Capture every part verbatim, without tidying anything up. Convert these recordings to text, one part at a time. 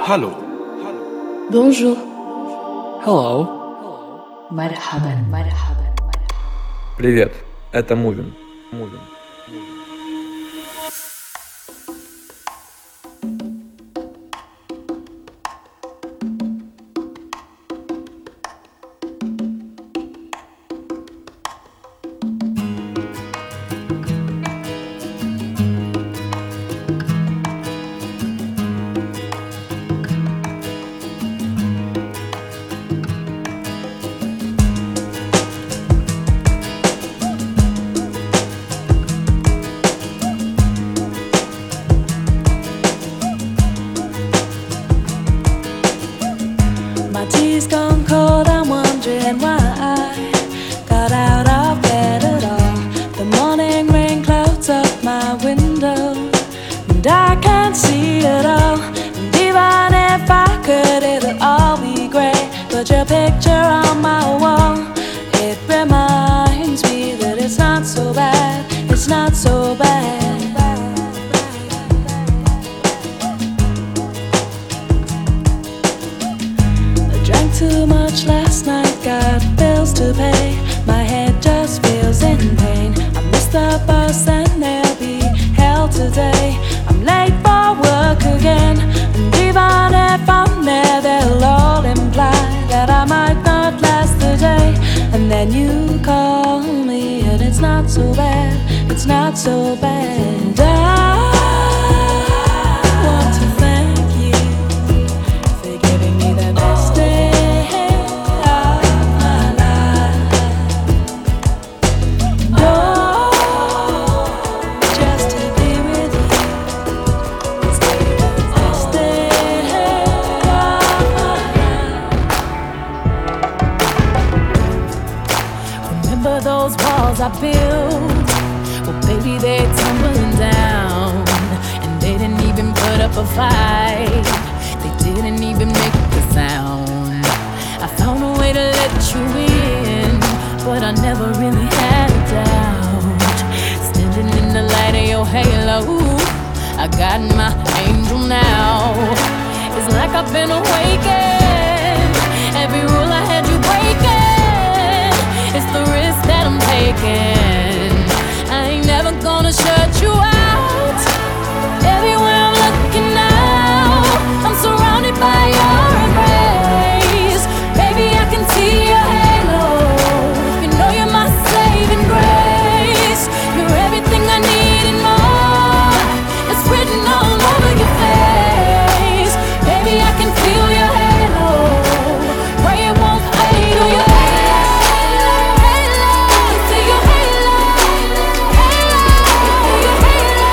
Hallo. Bonjour. Hello. Marhaban, marhaban, marhaban. Привет, это Мувин. Мувин. My tea's gone cold, I'm wondering why I got out of bed at all. The morning rain clouds up my window, and I can't see it all. And even if I could, it'll all be grey. But your picture on my wall, it reminds me that it's not so bad, it's not so bad. Drank too much last night, got bills to pay. My head just feels in pain. I missed the bus and there'll be hell today. I'm late for work again, and even if I'm there, they'll all imply that I might not last the day. And then you call me, and it's not so bad, it's not so bad. I want to thank you for giving me the best day of my life. Oh, just to be with you is the best day of my life. Remember those walls I built? Well, baby, they're tumbling down, and they didn't even put up a fight. They didn't even make a sound. I found a way to let you in, but I never really had a doubt. Standing in the light of your halo, I got my angel now. It's like I've been awakened. Every rule I had you breaking, it's the risk that I'm taking. I ain't never gonna shut you out. Everywhere I'm looking now, I'm surrounded by your embrace. Baby, I can see your halo. You know you're my saving grace. You're everything I need and more. It's written all over your face. Baby, I can feel your halo. Pray it won't fade. Oh, your halo, halo, see your halo, halo, your halo,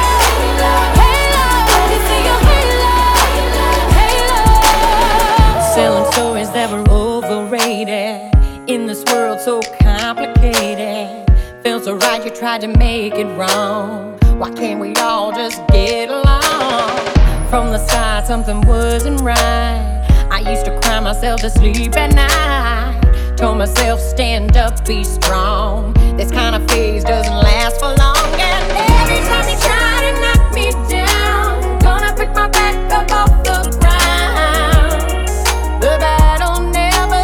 halo, see your halo, halo. Selling stories that were overrated in this world so complicated. Feels so right, you tried to make it wrong. Why can't we all just get along? From the start, something wasn't right. I used to cry myself to sleep at night. Told myself, stand up, be strong. This kind of phase doesn't last for long. And every time you try to knock me down, gonna pick my back up off the ground. The battle never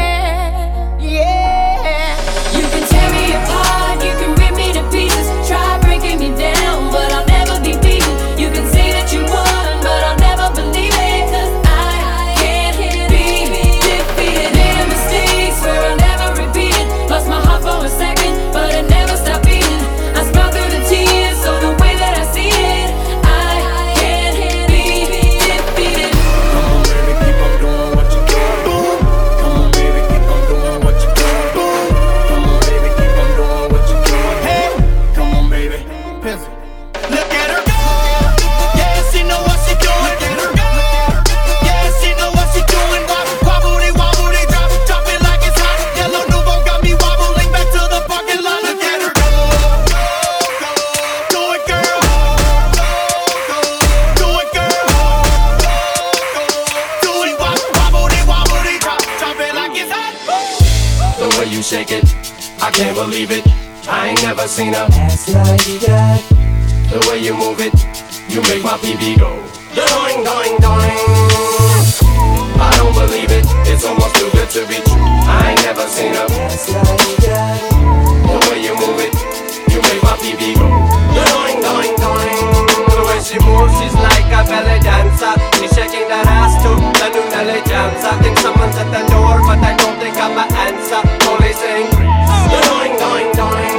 ends, yeah. You can tear me apart, you can rip me to pieces. Try breaking me down, but I'll never be beaten. You can say that you won, but I'll never believe it. 'Cause I can't be defeated. Made mistakes where I'll never repeat it. Lost my heart for a second, but it never stopped beating. I smile through the tears, so the way that I see it, I can't be defeated. Come on, baby, keep on doing what you do. Come on, baby, keep on doing what you do. Come on, baby, keep on doing what you do. Hey, come on, baby, Pizzy. Look at her go. Yeah, she know what she doing. Look at her go. Yeah, she know what she doing. Wobble, wobble, wobble, drop, drop it like it's hot. Yellow Nuvo got me wobbling back to the parking lot. Look at her go. Do it, girl. Do it, girl. Do it, wobble, wobble, wobble, drop, drop it like it's hot. The way you shake it, I can't believe it. I ain't never seen a Ass like that. The way you move it, you make my P B go. Doing, doing, doing. believe it. It's almost too good to be true. I ain't never seen a dance like that. The way you move it, you make my P V go doing, doing, doing. The way she moves, she's like a belly dancer. She's shaking that ass to the new Nelly jams. I think someone's at the door, but I don't think I'm an answer. Only saying, doing, doing, doing.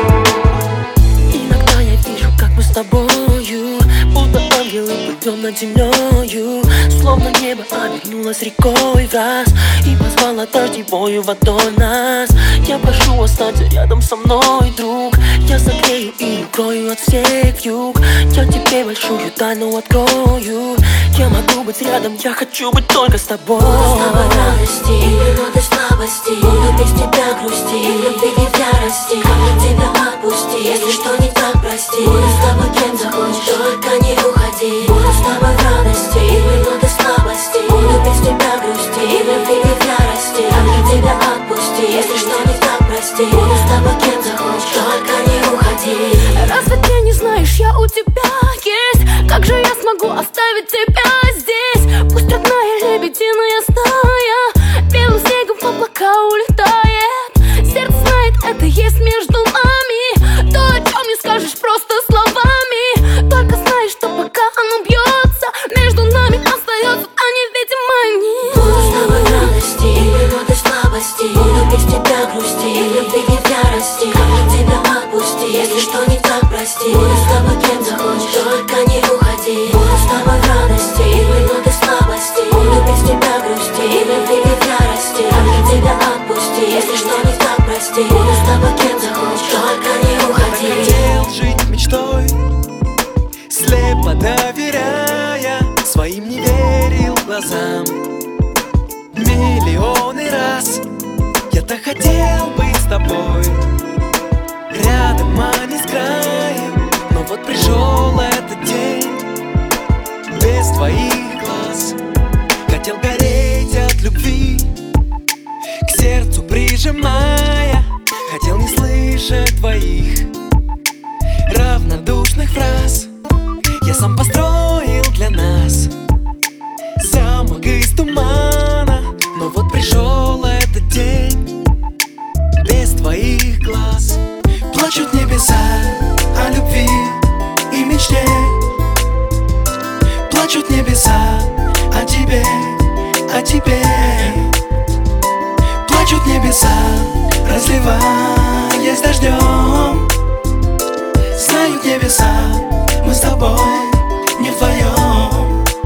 Иногда я вижу, как мы с тобою, будто ангелы плывем над землею. Словно небо обернулось рекой в раз и позвала дождевою водой нас. Я прошу, останься рядом со мной, друг. Я согрею и укрою от всех юг. Я тебе большую тайну открою. Я могу быть рядом, я хочу быть только с тобой. Буду с тобой в радости и минуты слабости. Буду без тебя грусти и любви не в ярости. Как тебя отпусти, если что не так, прости. Буду с тобой кем захочешь, только не уходи. Буду с тобой в радости и минуты слабости. Буду без тебя грусти и любви не в ярости. Как тебя отпусти, если что не так, прости. Буду с тобой кем захочешь, только не уходи. Разве ты не знаешь, я у тебя есть? Как же я смогу оставить тебя здесь? Пусть родная лебединая стая белым снегом в облака улетает. Сердце знает, это есть между нами. То, о чем не скажешь просто словами. Только знаешь, что пока оно бьется, между нами остается та невидимая нить. Буду с тобой в радости и минуты слабости. Буду без тебя грусти и любви не в ярости. Как тебя отпусти, если что не так, прости. Буду с тобой кем захочешь, только не уходи. Буду с тобой в радости и минуты слабости. Буду без тебя грусти и любви не в ярости. Как тебя отпусти, если что не так, прости. Буду с тобой кем захочешь, только не уходи. Хотел жить мечтой, слепо доверяя, своим не верил глазам. Миллионы раз я так хотел быть с тобой, рядом, а не с краем. Но вот пришел этот день без твоих глаз. Хотел гореть от любви, к сердцу прижимая. Хотел не слышать твоих равнодушных фраз. Я сам построил для нас замок из тумана. Но вот пришел этот день без твоих глаз. Плачут небеса о любви и мечте. Плачут небеса о тебе, о тебе. Плачут небеса, разливаясь дождем. Знают небеса, мы с тобой не вдвоем.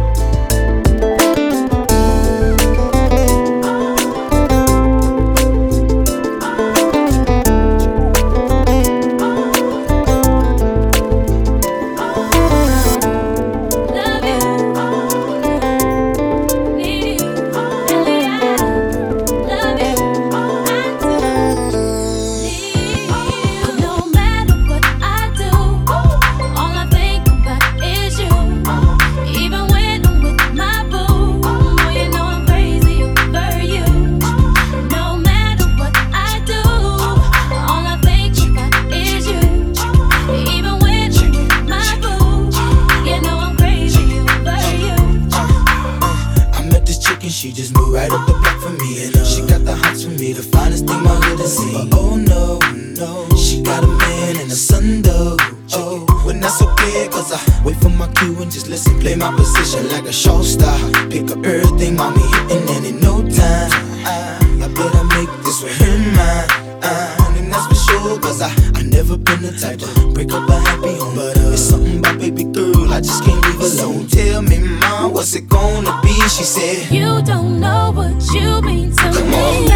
She just moved right up the block for me, and uh, she got the hots for me, the finest thing my hood has seen. But oh no, no, she got a man and a son though. Oh, but that's okay, cause I wait for my cue and just listen, play my position like a show star. Pick up everything, mommy hitting, and in no time, I, I better make this with her mine. Uh, and that's for sure, cause I, I never been the type to break up a happy home. But uh, it's something about baby girl, I just can't leave alone. Tell me, mom, what's it gonna be? She said, you don't know what you mean to Come me. on.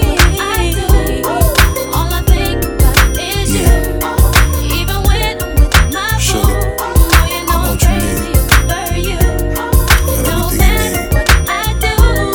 I do. All I think about is Yeah. you. Even when I'm with my Sugar, boo, oh, you know I I'm want you crazy over you. No everything you matter need. what I do,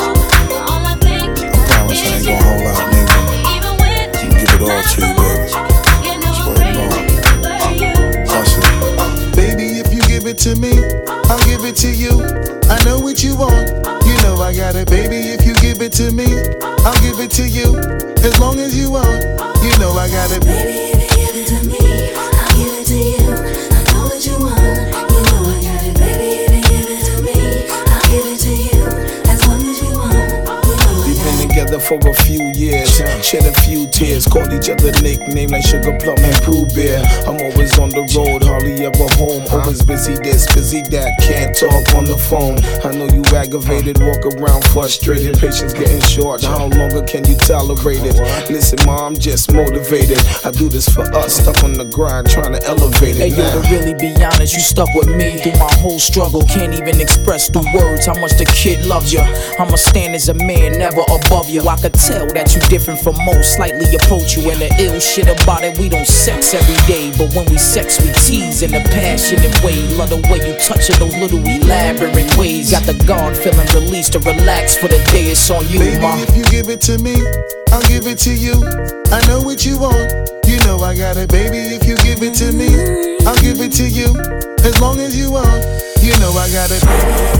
all I think I promise I is ain't you. gonna hold out, nigga. Even when I'm gonna give it all to you, baby. you know I'm Swear to crazy over you. Listen. Baby, if you give it to me, I'll give it to you. I know what you want, you know I got it. Baby, if you give it to me, I'll give it to you. As long as you want, you know I got it. Baby, if you give it to me, I'll give it to you. I know what you want, you know I got it. Baby, if you give it to me, I'll give it to you. As long as you want, you for a few years. Shed a few tears, called each other nickname like Sugar Plum and Pooh Bear. I'm always on the road, hardly ever home. Always busy this, busy that, can't talk on the phone. I know you aggravated, walk around frustrated. Patience getting short, how longer can you tolerate it? Listen, ma, I'm just motivated. I do this for us, stuck on the grind, trying to elevate it. Hey, yo, to really be honest, you stuck with me through my whole struggle. Can't even express through words how much the kid loves you. I'ma stand as a man, never above you. I could tell that you different from most, slightly approach you. And the ill shit about it, we don't sex every day, but when we sex, we tease in a passionate way. Love the way you touch it, those little elaborate ways. Got the guard feeling released to relax for the day. It's on you, baby, ma. If you give it to me, I'll give it to you. I know what you want, you know I got it, baby. If you give it to me, I'll give it to you. As long as you want, you know I got it.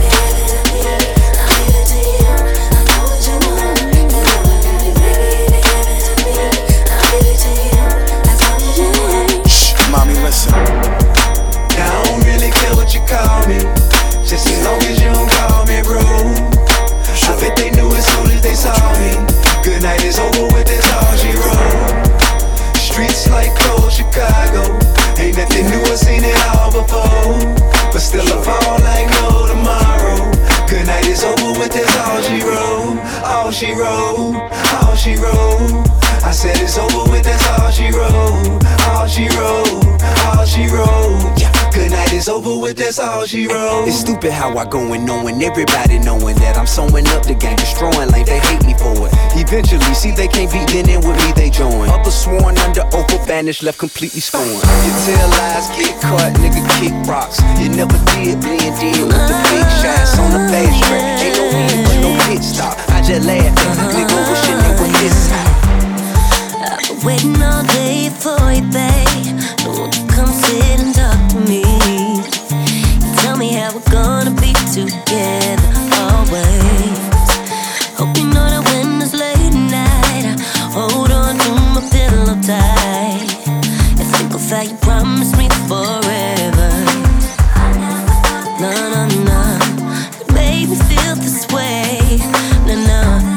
Shh, mommy, listen. I don't really care what you call me, just as long as you don't call me rude. I bet they knew as soon as they saw me. Good night is over with, that's all she wrote. Streets like cold Chicago, ain't nothing new, I seen it all before. But still I fall like no tomorrow. Good night is over with, that's all she wrote. All she wrote, all she wrote. I said it's over with, that's all she wrote. All she wrote, all she wrote. Yeah. Good night is over with, that's all she wrote. It's stupid how I go and knowing everybody knowing that I'm sewing up the game, destroying like they hate me for it. Eventually, see they can't be then in with me, they join. Others sworn under oath, banished, left completely scorned. You tell lies, get caught, nigga kick rocks. You never did blend in with the big shots on the fast track. Ain't no need but no pit stop. I just laugh at the nigga wishing it was this high. I've been waiting all day for you, babe. No one can come sit and talk to me. You tell me how we're gonna be together always. Hope you know that when it's late night, I hold on to my pillow tight and think of how you promised me forever. No, no, no, it made me feel this way. No, no.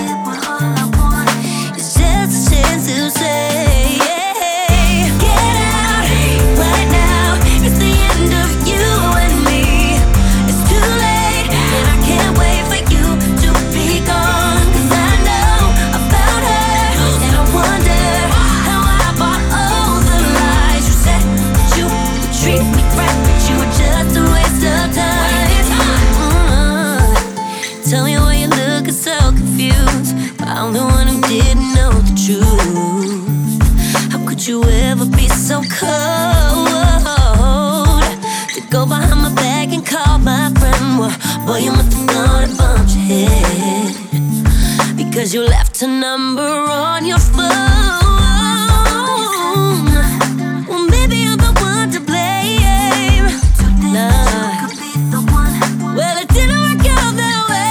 To say, yeah, get out right now. It's the end of you and me. It's too late, and I can't wait for you to be gone. 'Cause I know about her, and I wonder how I bought all the lies. You said that you would treat me right, but you were just a waste of time. Mm-hmm. Tell me why you're looking so confused. I'm the one who didn't know the truth. Could you ever be so cold to go behind my back and call my friend? Well, boy, you must have thought and bumped your head because you left a number on your phone. Well, maybe I'm the one to blame. Nah. Well, it didn't work out that way.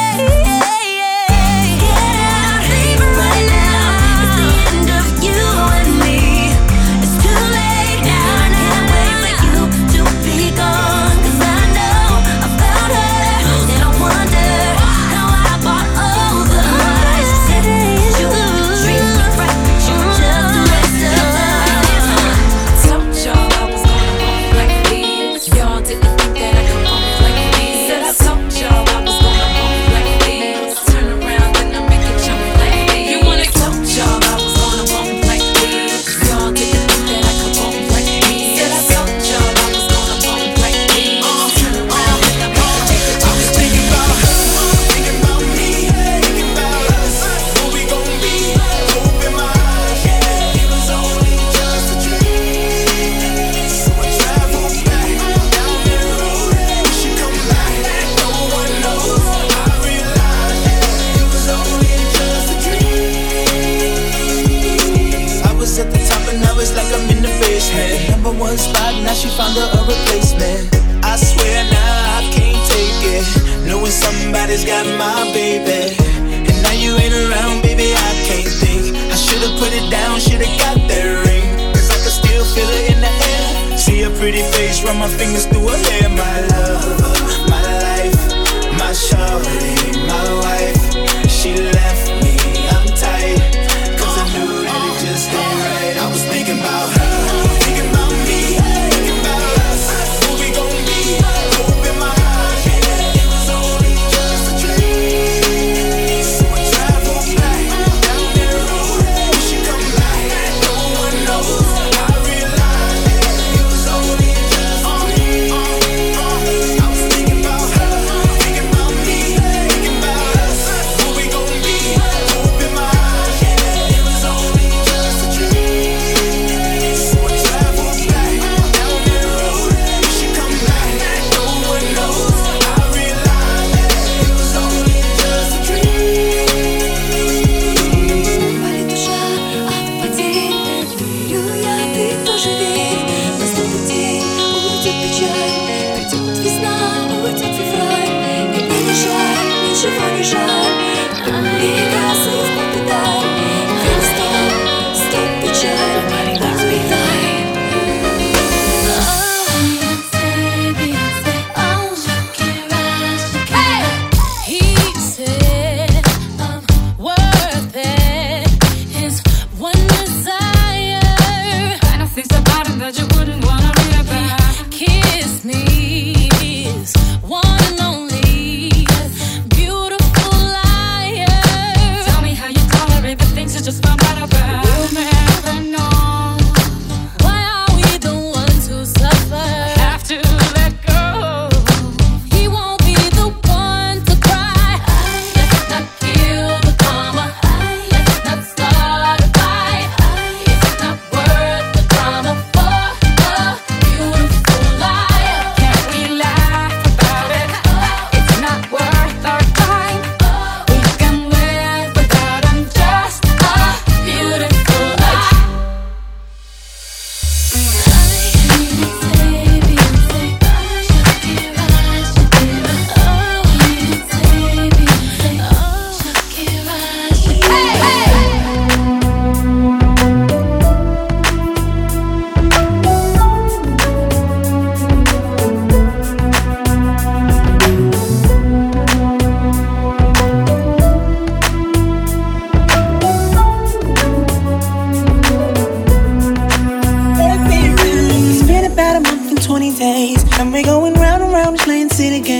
Somebody's got my baby, and now you ain't around, baby, I can't think. I should've put it down, should've got that ring, 'cause I can still feel it in the air. See a pretty face, run my fingers through her hair. My love, my life, my shawty, my wife. She left me, I'm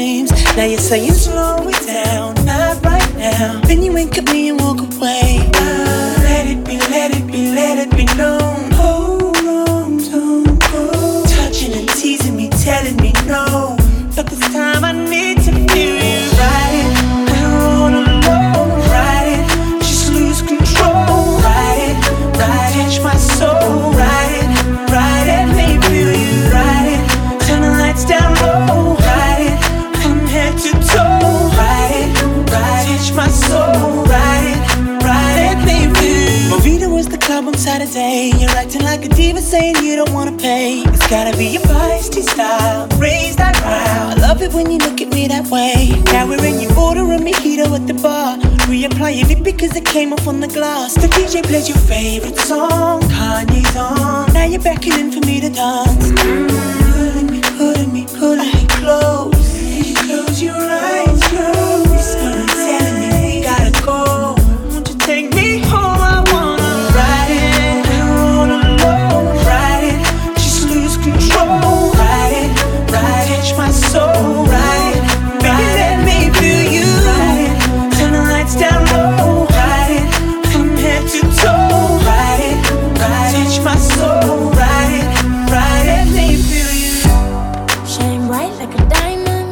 games. Now you're saying slow it down, not right now. Then you wink at me and walk away. Ah, let it be, let it be, let it be known. Hold on, don't go. Touching and teasing me, telling me no. But this time I need to feel you. Ride it, I don't wanna alone. Ride it, just lose control. Ride it, ride it, touch my soul. Ride it, ride it, let me feel you. Ride it, turn the lights down low. Ride it, from head to toe. Ride it, ride it, touch my soul. Ride it, ride it, let me feel you. Movida was the club on Saturday. You're acting like a diva saying you don't wanna pay. It's gotta be your feisty style, raise that crowd. I love it when you look at me that way. Now we're in your order and mojito at the bar. Reapplying it because it came off on the glass. The D J plays your favorite song, Kanye's on. Now you're beckoning for me to dance. Mm, pulling me, pulling me, pulling me close. Close your eyes, close. Telling me we gotta go. Won't you take me home? I wanna ride it, I don't wanna alone. Ride it, just lose control. Ride it, ride it, touch my soul. Ride it, baby, let me feel you. Ride it, turn the lights down low. Ride it, from head to toe. Ride it, ride it, touch my soul. Ride it, ride it, let me feel you. Shine bright like a diamond.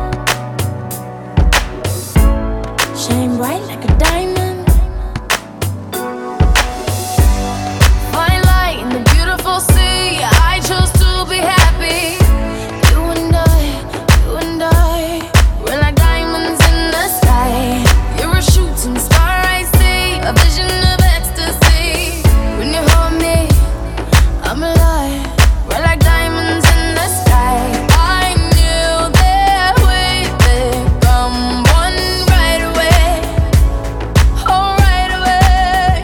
Shine bright like a diamond. Fine light in the beautiful sea. I chose to be happy. You and I, you and I, we're like diamonds in the sky. You're a shooting star, I see, a vision of ecstasy. When you hold me, I'm alive. We're like diamonds in the sky. I knew that we'd become one right away. Oh, right away.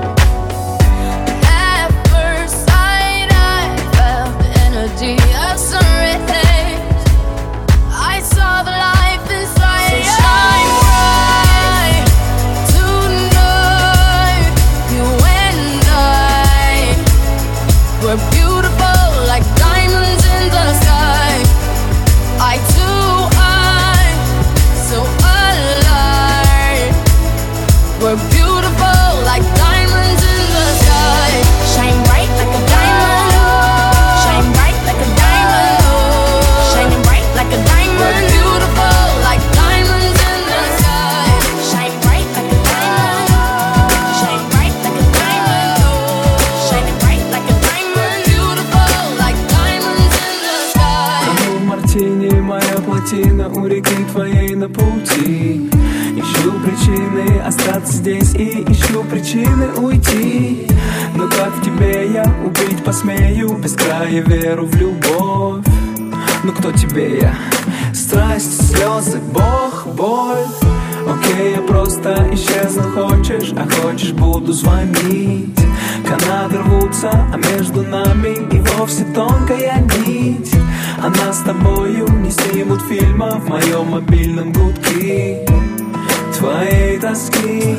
At first sight, I felt the energy of sun rays. I saw the life inside. So shine bright tonight. You and I, we're beautiful like diamonds in the sky. I too, I, so alive. We're beautiful like diamonds in the sky. Shine bright like a diamond. Shine bright like a diamond. Shining bright like a We're diamond. beautiful like diamonds in the sky. Shine bright like a diamond. Shine bright like a diamond. Shining bright like a diamond. Beautiful like diamonds in the sky. Тону в мартине, моя плотина у реки твоей на пути. Ищу причины остаться здесь и ищу причины уйти. Но как в тебе я убить посмею, без края веру в любовь. Ну кто тебе я? Страсть, слезы, Бог, боль. Окей, я просто исчезну, хочешь, а хочешь буду звонить. Канаты рвутся, а между нами и вовсе тонкая нить. А нас с тобою не снимут фильма в моем мобильном гудке твоей тоски.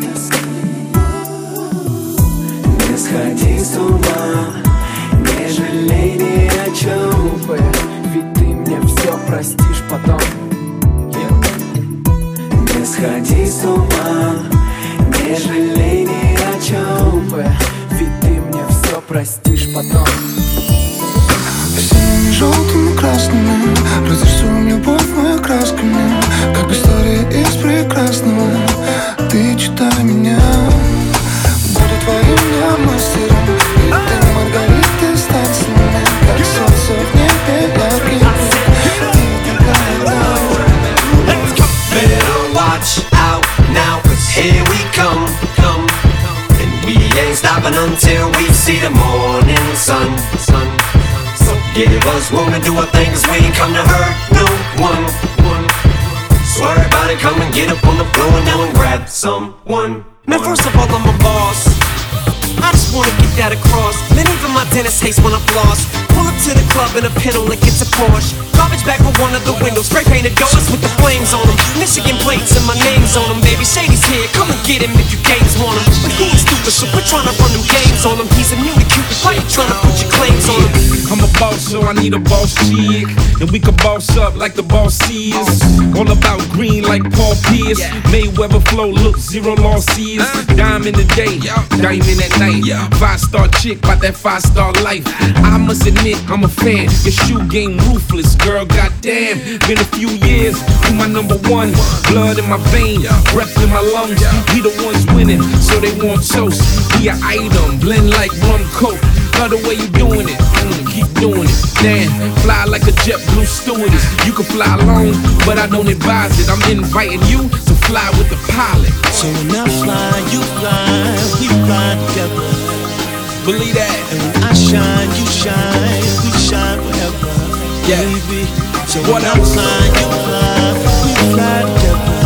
Не сходи с ума, не жалей ни о чем, ведь ты мне все простишь потом. Не сходи с ума, не жалей ни о чем, ведь ты мне все простишь потом. Синими, желтыми, красными разрисуем любовь мы красками, как история из прекрасного. Ты читай меня, буду твоим я мастером, и ты Маргаритой стать с нами, как солнце в небе ярким. Ты такая добрая. Better watch out now, cause here we come, come. And we ain't stopping until we see the morning sun, sun. So give us room to do our thing, cause we ain't come to hurt no one, one. So everybody come and get up on the floor now and grab someone. Man, first of all, I'm a boss. I just wanna get that across. Man, even my dentist hates when I floss. Pull up to the club in a pintle like it's a Porsche. Garbage bag with one of the windows, spray painted doors with the flames on them. Michigan plates and my name's on them. Baby Shady's here, come and get him if you games want him. But he ain't stupid, so quit trying to run them games on him. He's immune to Cupid, why you trying to put your claims on him? I'm a boss, so I need a boss chick. And we can boss up like the boss is. All about green like Paul Pierce. Mayweather flow, look, zero losses. Dime in the day, diamond at night. Five star chick, about that five star life. I must admit, I'm a fan. Your shoe game ruthless, girl, goddamn. Been a few years, you my number one. Blood in my veins, breath in my lungs. We the ones winning, so they want toast. Be an item, blend like rum coke. Love the way you doing it, mm, keep doing it. Damn, fly like a JetBlue stewardess. You can fly alone, but I don't advise it. I'm inviting you to fly with the pilot. So when I fly, you fly, we fly together. Believe that. And when I shine, you shine, we shine forever. Yeah. Baby. So what when I fly, you fly, we fly together.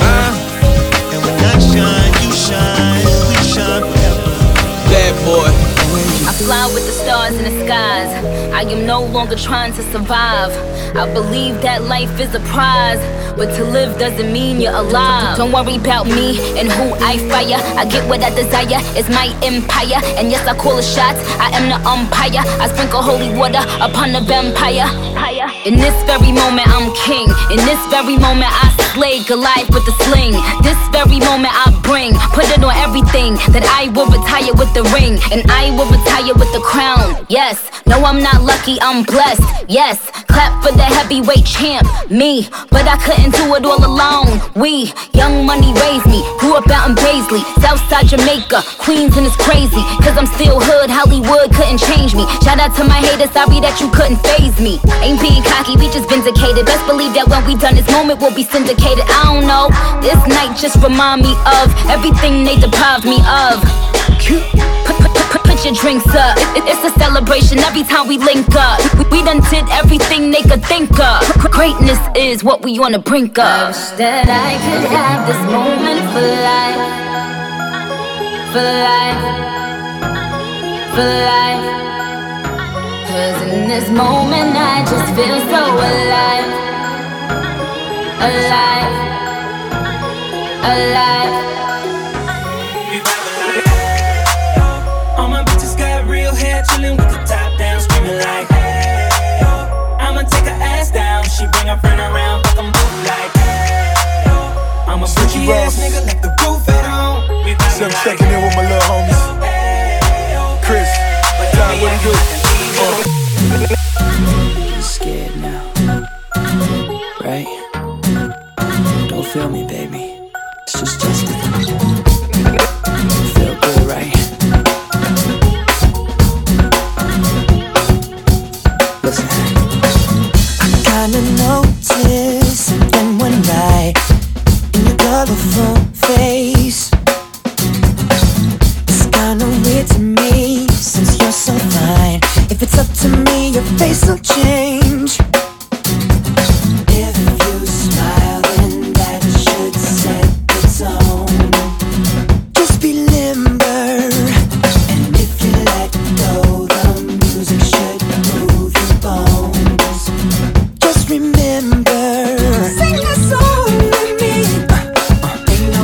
Uh, and when I shine, you shine, we shine forever. Bad boy. I fly with the stars in the skies. I am no longer trying to survive. I believe that life is a prize, but to live doesn't mean you're alive. Don't worry about me and who I fire. I get what I desire, it's my empire. And yes, I call the shots, I am the umpire. I sprinkle holy water upon the vampire. In this very moment I'm king. In this very moment I slay Goliath with the sling. This very moment I bring, put it on everything, that I will retire with the ring. And I will retire with the crown. Yes, no I'm not lucky, I'm blessed. Yes, clap for the heavyweight champ, me. But I couldn't do it all alone. We, Young Money raised me, grew up out in Paisley, Southside Jamaica, Queens, and it's crazy, cause I'm still hood, Hollywood couldn't change me. Shout out to my haters, sorry that you couldn't faze me. Ain't being cocky, we just vindicated. Best believe that when we done this moment we'll be syndicated. I don't know, this night just remind me of everything they deprived me of. Put, put, put, put your drinks up, it, it's a celebration every time we link up. We, we done did everything they could think of. Greatness is what we on the brink of. I wish that I could have this moment for life, for life, for life. Cause in this moment I just feel so alive, alive, alive. All my bitches got real hair, chillin' with the top down, screaming like, hey, yo. I'ma take her ass down, she bring her friend around, fuck 'em both like, hey, yo. I'm a freaky ass nigga, left the roof at home. So I'm checking in with my little homies. Chris, John, what do you do? You scared now, right? Don't feel me, baby. It's just Justin. Feel good, right? Listen, I kinda noticed something one night in your colorful face. It's kinda weird to me since you're so fine. If it's up to me, your face will change. If you smile, then that should set the tone. Just be limber, and if you let go, the music should move your bones. Just remember, sing a song with me. Uh, uh, ain't no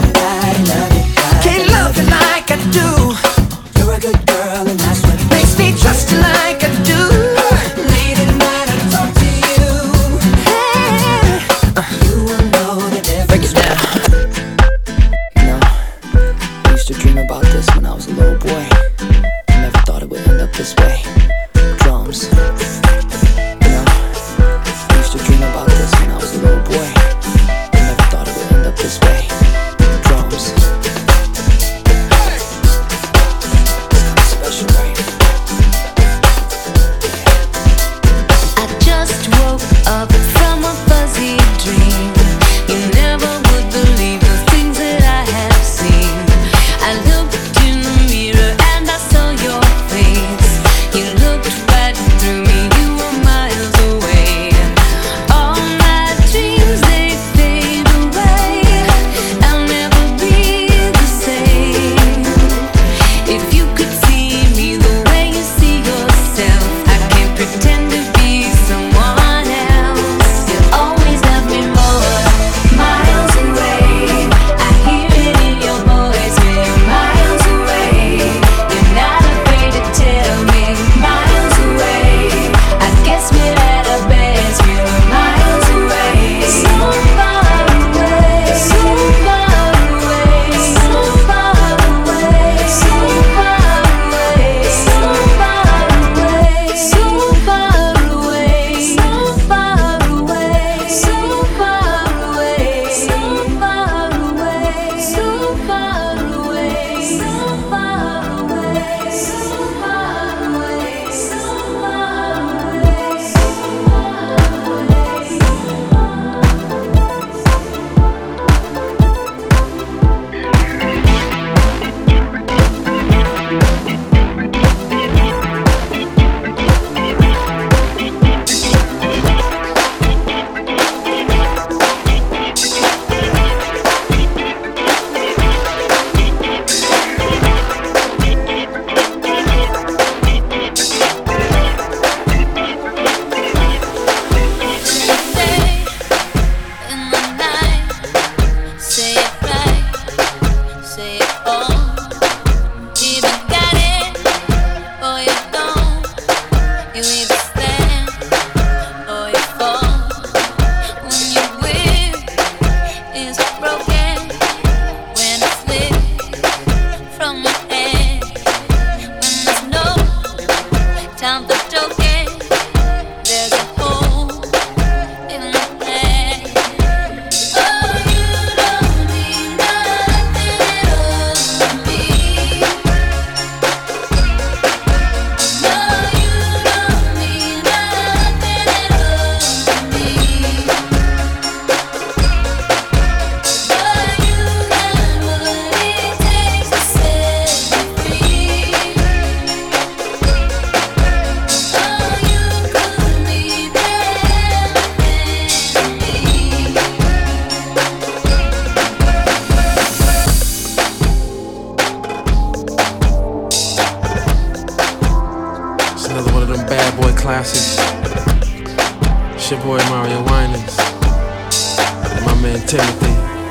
man Timothy.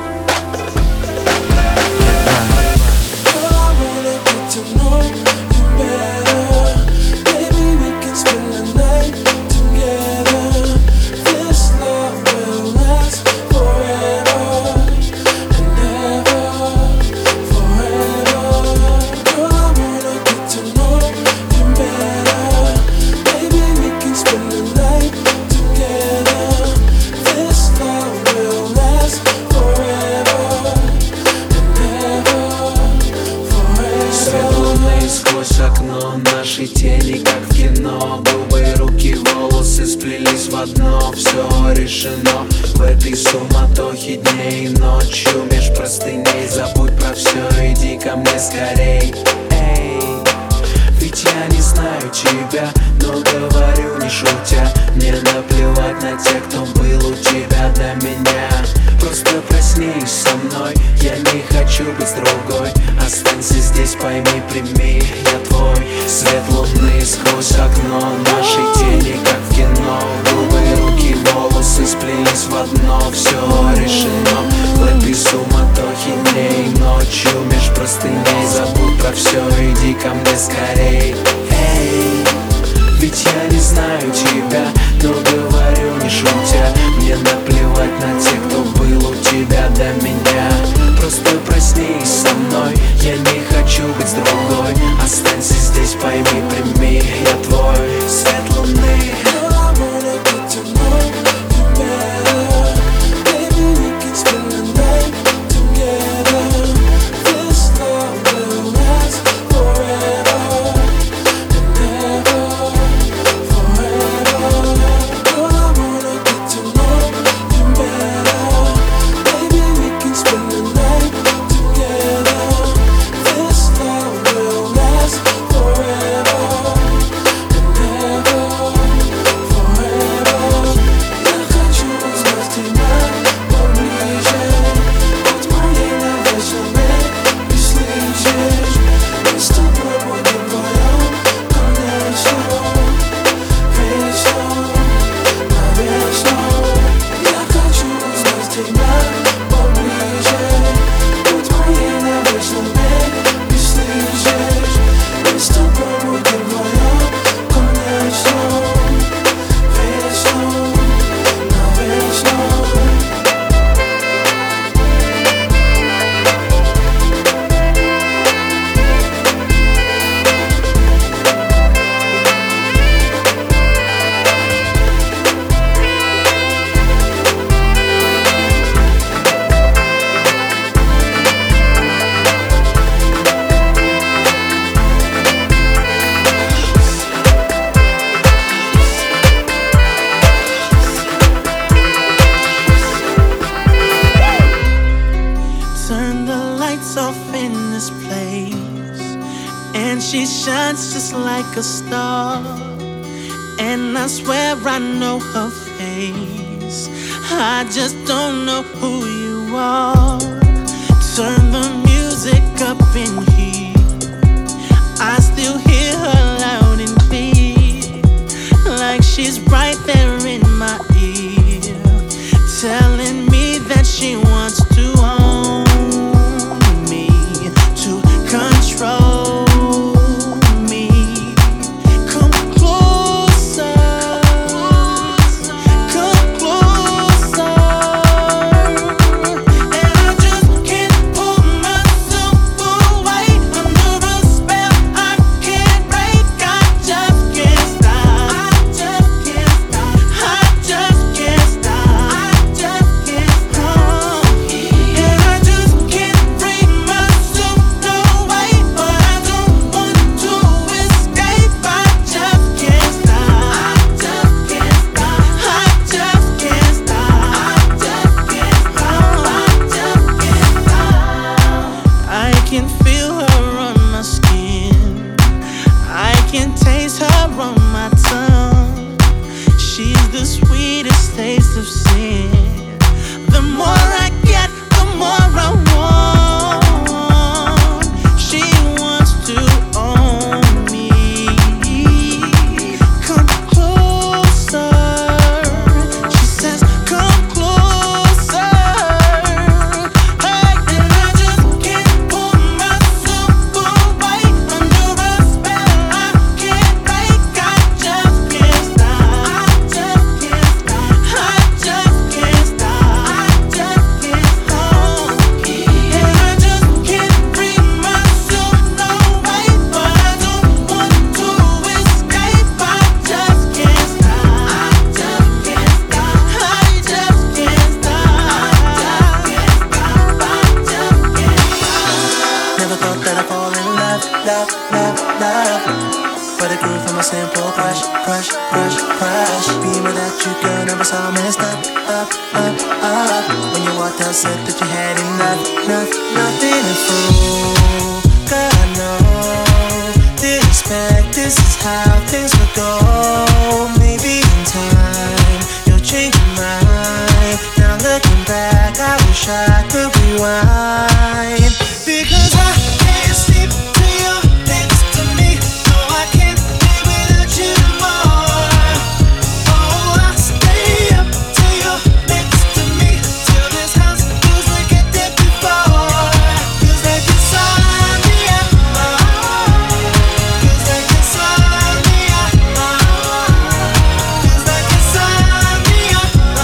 Наши тени, как в кино, губы, руки, волосы сплелись в одно. Все решено в этой суматохе дней и ночью. Меж простыней забудь про все, иди ко мне скорей. Эй, ведь я не знаю тебя, но говорю не шутя. Мне наплевать на тех, кто был у тебя до меня. Просто проснись со мной, я не хочу быть с другой. Останься здесь, пойми, прими, я твой. Свет луны сквозь окно, наши тени, как в кино. Губы, руки, волосы сплелись в одно. Все решено в этой суматохе дней и ночью. Меж простыней забудь про все, иди ко мне скорей. Эй, ведь я не знаю тебя, но говорю не шутя. Мне наплевать на тех, кто был у тебя до меня. Просто проснись со мной, я не хочу быть с другой. Останься здесь, пойми, прими, я твой. Свет луны. A star, and I swear I know her face. I just don't know who you are. Turn the music up in here. I still hear her loud and clear, like she's right there in my ear, telling me that she wants to own me, to control. Yeah. crush, crush, crush. Being without you, girl, never so messed up, up, up, up. When you walked out, said that you had enough, enough, nothing to fool. Girl, I know, didn't expect this is how things would go. Maybe in time, you'll change your mind. Now looking back, I wish I could rewind. Because I can't sleep till you're next to me. No, I can't live without you more. Oh, I'll stay up till you're next to me, till this house feels like it did before. Feels like insomnia. Feels like insomnia. Feels like insomnia.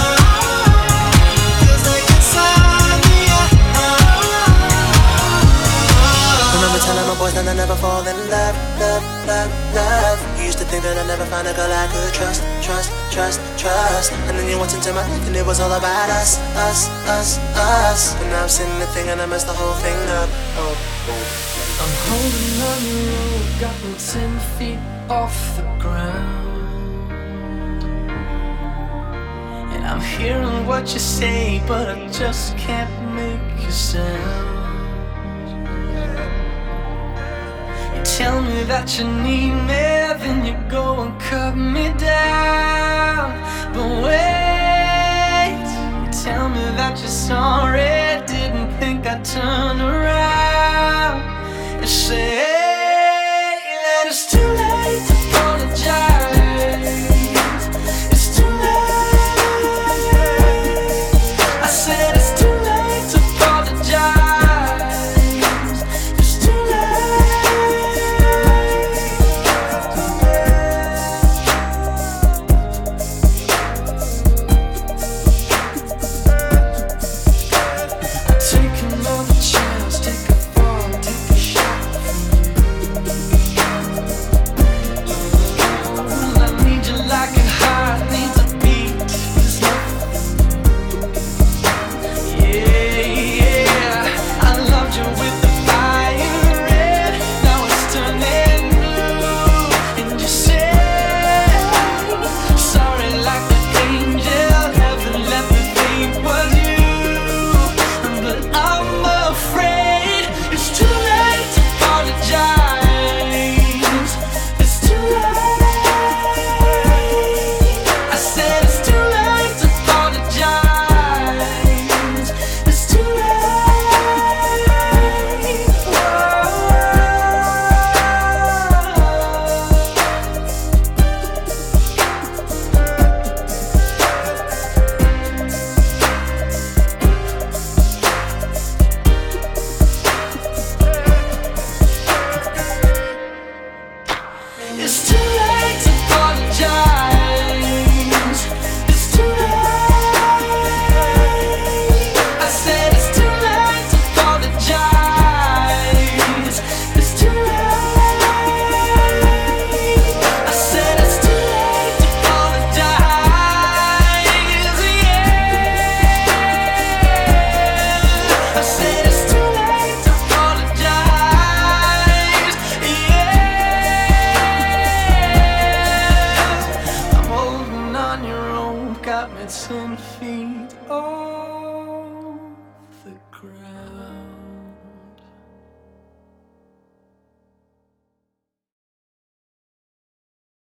Feels like insomnia. Remember telling my boys that I never fall in love, love, love, love. You used to think that I'd never find a girl I could trust, trust, trust, trust. And then you walked into my life and it was all about us, us, us, us. And now I'm sitting there thinking I messed the whole thing up. Oh. I'm holding on your rope, got me ten feet off the ground. And I'm hearing what you say, but I just can't make a sound. Tell me that you need me, then you go and cut me down. But wait, you tell me that you're sorry, didn't think I'd turn around. You say that it's too late to apologize. It's too late. I said it's too late to apologize. ten feet. Oh.